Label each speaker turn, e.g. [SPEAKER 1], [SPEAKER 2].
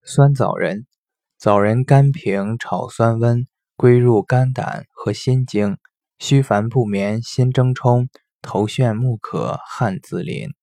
[SPEAKER 1] 酸枣仁，枣仁甘平炒酸温，归入肝胆和心经，虚烦不眠，心怔冲，头眩目渴，汗自淋。